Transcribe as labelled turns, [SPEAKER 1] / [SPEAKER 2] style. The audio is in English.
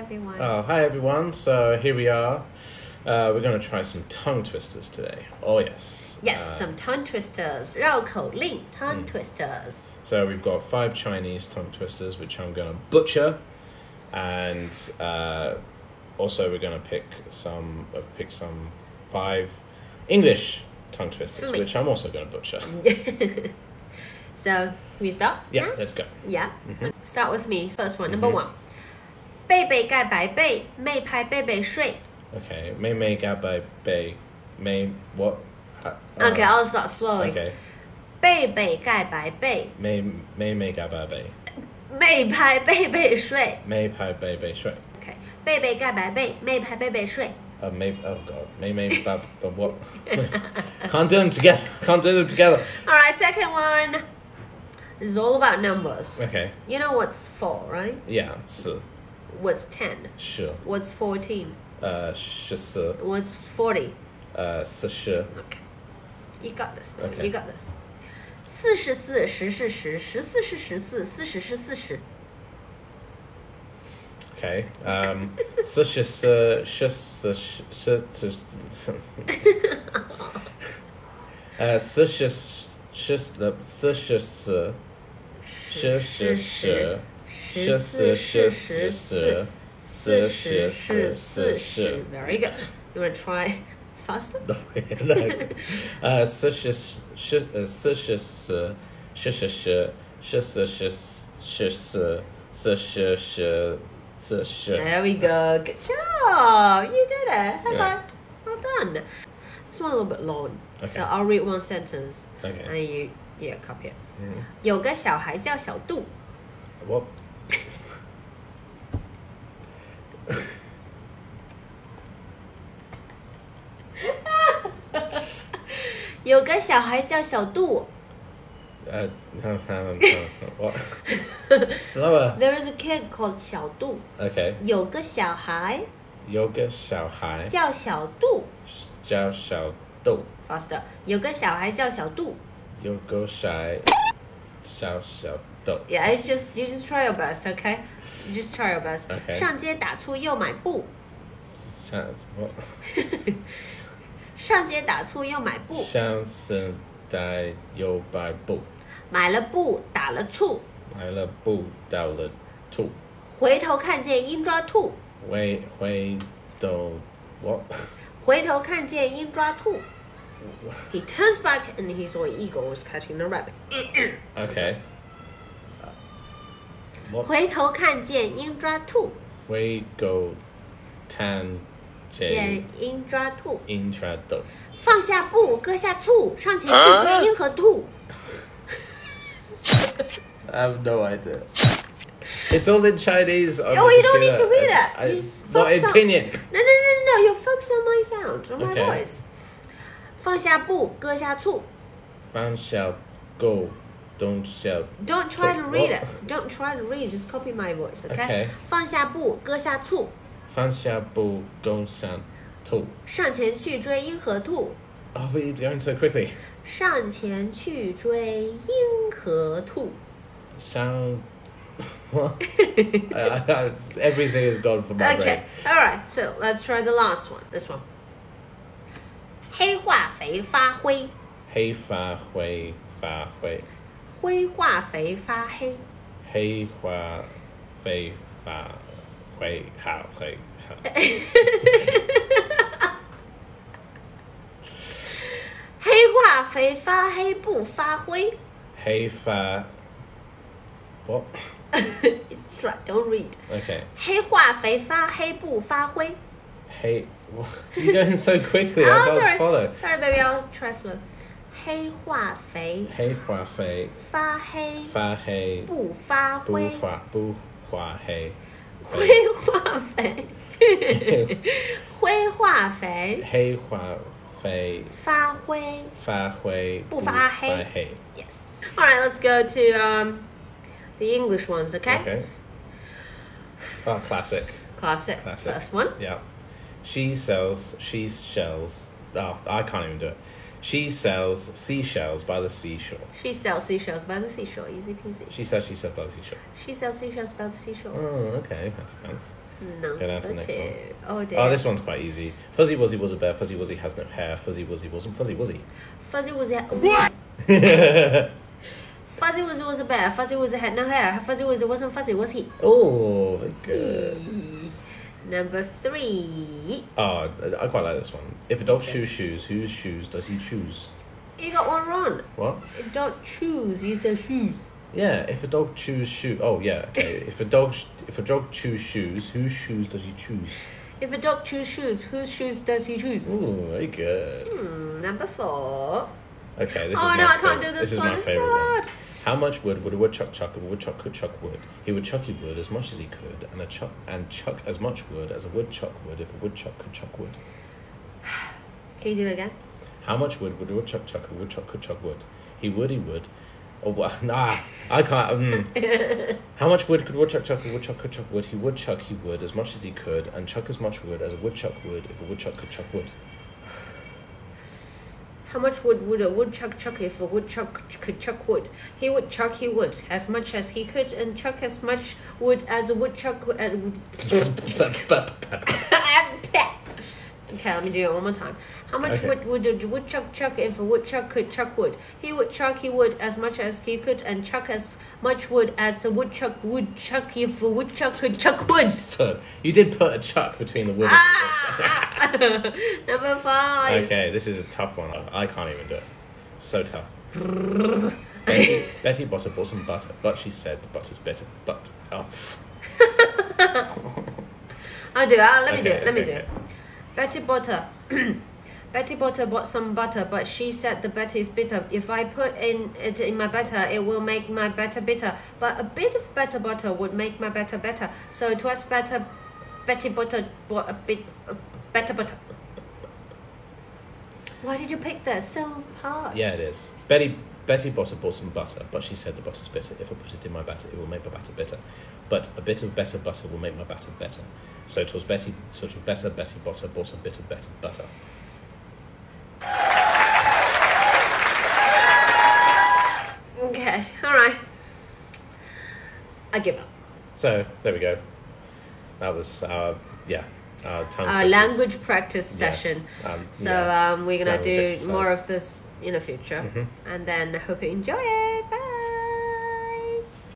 [SPEAKER 1] everyone.
[SPEAKER 2] Oh, hi everyone. So here we are. We're going to try some tongue twisters today. Oh, yes.
[SPEAKER 1] Yes, some tongue twisters. 绕口令 tongue twisters.
[SPEAKER 2] So we've got 5 Chinese tongue twisters, which I'm going to butcher. And also we're going to pick some 5 English tongue twisters, which I'm also going to butcher.
[SPEAKER 1] So, can we start?
[SPEAKER 2] Yeah, let's go.
[SPEAKER 1] Yeah. Start with me. First one, number 1. 贝贝盖白被，妹拍贝贝睡。
[SPEAKER 2] Okay. May ga by bay. May what?
[SPEAKER 1] Okay, I'll start slowly.
[SPEAKER 2] Okay.
[SPEAKER 1] 贝贝盖白被，
[SPEAKER 2] May ga by bay.
[SPEAKER 1] 妹拍贝贝睡。
[SPEAKER 2] May pai bay bay shui.
[SPEAKER 1] Okay. 贝贝盖白被，妹拍贝贝睡。
[SPEAKER 2] May oh god. May bab what? Can't do them together. Can't do them together.
[SPEAKER 1] All right, second one. This is all about numbers.
[SPEAKER 2] Okay.
[SPEAKER 1] You know what's 4, right?
[SPEAKER 2] Yeah. 4.
[SPEAKER 1] What's 10?
[SPEAKER 2] 10.
[SPEAKER 1] What's 14?
[SPEAKER 2] 14.
[SPEAKER 1] What's 40?
[SPEAKER 2] 40.
[SPEAKER 1] Okay. You got this, bro.
[SPEAKER 2] Okay.
[SPEAKER 1] You got this. 44 10是10 14是14 40是40
[SPEAKER 2] Okay. 44 40
[SPEAKER 1] Very good. You want to try faster?
[SPEAKER 2] No. 44
[SPEAKER 1] There we go. Good job. You did it. High
[SPEAKER 2] Yeah.
[SPEAKER 1] five. Well done. This one a little bit long.
[SPEAKER 2] Okay.
[SPEAKER 1] So I'll read one sentence.
[SPEAKER 2] Okay.
[SPEAKER 1] And you copy it. 有个小孩叫小杜
[SPEAKER 2] What?
[SPEAKER 1] 有个小孩叫小杜
[SPEAKER 2] What? Slower.
[SPEAKER 1] There is a kid called 小杜
[SPEAKER 2] Okay.
[SPEAKER 1] 有个小孩
[SPEAKER 2] Yoga 小孩
[SPEAKER 1] 叫小杜
[SPEAKER 2] 叫小豆
[SPEAKER 1] Faster 有个小孩叫小杜
[SPEAKER 2] Yoga 小豆
[SPEAKER 1] Yeah, you just try your best, okay? You just try your best.
[SPEAKER 2] Okay.
[SPEAKER 1] 上街打醋又买布
[SPEAKER 2] What?
[SPEAKER 1] 上街打醋又买布
[SPEAKER 2] 相声带有摆布
[SPEAKER 1] 买了布打了醋
[SPEAKER 2] 买了布到了兔
[SPEAKER 1] 回头看见鹰抓兔
[SPEAKER 2] 回头 What?
[SPEAKER 1] 回头看见鹰抓兔 He turns back and he saw an eagle was catching the rabbit.
[SPEAKER 2] Okay. What?
[SPEAKER 1] 回头看见鹰抓兔
[SPEAKER 2] 回头看
[SPEAKER 1] 见
[SPEAKER 2] 见
[SPEAKER 1] 鹰抓兔
[SPEAKER 2] 鹰抓豆
[SPEAKER 1] 放下布割下醋上前去追鹰和兔
[SPEAKER 2] I have no idea. It's all in Chinese.
[SPEAKER 1] Oh, you don't need to read it. You just
[SPEAKER 2] Not
[SPEAKER 1] focus on-
[SPEAKER 2] opinion.
[SPEAKER 1] No, you focus on my sound, on my
[SPEAKER 2] Okay.
[SPEAKER 1] voice 放下布割下醋
[SPEAKER 2] 放下go, don't shout.
[SPEAKER 1] Don't try to read
[SPEAKER 2] What?
[SPEAKER 1] it. Don't try to read. Just copy my voice, okay?
[SPEAKER 2] Okay.
[SPEAKER 1] 放下布，割下醋，
[SPEAKER 2] 放下不共享兔。
[SPEAKER 1] 上前去追鹰和兔。
[SPEAKER 2] Oh, but you're going so quickly.
[SPEAKER 1] 上前去追鹰和兔。
[SPEAKER 2] Sound. What? Everything is gone from my
[SPEAKER 1] Okay, all right. So let's try the last one. This one. 黑化肥发灰，
[SPEAKER 2] brain. 黑发灰发灰，
[SPEAKER 1] 灰化肥发黑，
[SPEAKER 2] 黑化灰发灰好灰好。
[SPEAKER 1] 黑化肥发黑不发灰。
[SPEAKER 2] 黑发 What?
[SPEAKER 1] It's right. Don't read.
[SPEAKER 2] Okay.
[SPEAKER 1] 黑化肥发黑不发灰。
[SPEAKER 2] Hey, you're going so quickly. I
[SPEAKER 1] Oh,
[SPEAKER 2] can't
[SPEAKER 1] sorry.
[SPEAKER 2] follow.
[SPEAKER 1] Sorry, baby. I'll try slow. 黑化肥
[SPEAKER 2] 黑化灰
[SPEAKER 1] 发黑
[SPEAKER 2] 发黑
[SPEAKER 1] 不发
[SPEAKER 2] 不
[SPEAKER 1] 灰。
[SPEAKER 2] 不发黑，
[SPEAKER 1] 灰化肥，灰化肥
[SPEAKER 2] 黑化灰
[SPEAKER 1] 发灰
[SPEAKER 2] 发灰
[SPEAKER 1] 不发黑。
[SPEAKER 2] 发黑。
[SPEAKER 1] Yes. All right, let's go to the English ones, okay?
[SPEAKER 2] Okay. Oh, classic.
[SPEAKER 1] Classic.
[SPEAKER 2] Classic.
[SPEAKER 1] First one.
[SPEAKER 2] Yeah. She shells. Oh, I can't even do it. She sells seashells by the seashore.
[SPEAKER 1] She sells seashells by the seashore. Easy peasy.
[SPEAKER 2] She sells seashells by the seashore.
[SPEAKER 1] She sells seashells by the seashore.
[SPEAKER 2] Oh, okay. Fancy pants. Go down to the next one.
[SPEAKER 1] 2. Oh dear.
[SPEAKER 2] Oh, this one's quite easy. Fuzzy Wuzzy was a bear. Fuzzy Wuzzy has no hair. Fuzzy Wuzzy wasn't Fuzzy Wuzzy.
[SPEAKER 1] Fuzzy Wuzzy. Fuzzy Wuzzy was a bear. Fuzzy Wuzzy had no hair. Fuzzy Wuzzy wasn't fuzzy, was he?
[SPEAKER 2] Oh, very good.
[SPEAKER 1] Number 3.
[SPEAKER 2] Oh, I quite like this one. If a dog chews shoes, whose shoes does he choose?
[SPEAKER 1] You got one wrong.
[SPEAKER 2] What?
[SPEAKER 1] Don't choose. You said shoes.
[SPEAKER 2] Yeah, if a dog chews shoes. Oh, yeah, okay. If a dog chews shoes, whose shoes does he choose?
[SPEAKER 1] If a dog choose shoes, whose shoes does he choose?
[SPEAKER 2] Ooh, very good.
[SPEAKER 1] Number 4.
[SPEAKER 2] Okay, this is
[SPEAKER 1] Oh
[SPEAKER 2] my
[SPEAKER 1] no, I
[SPEAKER 2] favorite.
[SPEAKER 1] can't do this
[SPEAKER 2] This is
[SPEAKER 1] one.
[SPEAKER 2] my
[SPEAKER 1] It's
[SPEAKER 2] favorite
[SPEAKER 1] so
[SPEAKER 2] one.
[SPEAKER 1] hard.
[SPEAKER 2] How much wood would a woodchuck chuck if a woodchuck could chuck wood? He would chuck wood as much as he could, and chuck as much wood as a woodchuck would if a woodchuck could chuck wood.
[SPEAKER 1] Can you do it again?
[SPEAKER 2] How much wood would a woodchuck chuck if a woodchuck could chuck wood? He would. Oh, well, nah, I can't. How much wood could a woodchuck chuck if a woodchuck could chuck wood? He would as much as he could, and chuck as much wood as a woodchuck would if a woodchuck could chuck wood.
[SPEAKER 1] How much wood would a woodchuck chuck if a woodchuck could chuck wood? He would as much as he could, and chuck as much wood as a woodchuck would. Okay, let me do it one more time. How much wood would a woodchuck chuck if a woodchuck could chuck wood? He would as much as he could, and chuck as much wood as a woodchuck would chuck if a woodchuck could chuck wood.
[SPEAKER 2] You did put a chuck between the wood.
[SPEAKER 1] Number 5.
[SPEAKER 2] Okay, this is a tough one. I can't even do it. So tough. Betty Botter bought some butter, but she said the butter's better. But
[SPEAKER 1] I'll do it. Let me do it. Betty Botter bought some butter, but she said the butter is bitter. If I put it in my butter, it will make my butter bitter. But a bit of better butter would make my butter better. So it was better. Betty Botter bought a bit of better butter. Why did you pick that so hard?
[SPEAKER 2] yeah, it is. Betty Botter bought some butter, but she said the butter's bitter. If I put it in my batter, it will make my batter bitter. But a bit of better butter will make my batter better. So it was better. Betty Botter bought a bit of better butter.
[SPEAKER 1] Okay, all right. I give up.
[SPEAKER 2] So there we go. That was our tongue
[SPEAKER 1] Our
[SPEAKER 2] twisters.
[SPEAKER 1] language practice session.
[SPEAKER 2] Yes.
[SPEAKER 1] So we're gonna
[SPEAKER 2] Language
[SPEAKER 1] do
[SPEAKER 2] exercise.
[SPEAKER 1] more of this in the future, and then I hope you enjoy it.